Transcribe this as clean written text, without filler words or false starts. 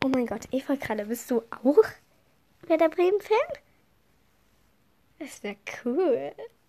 Oh mein Gott, Eva gerade, bist du auch Werder Bremen-Fan? Das wäre cool.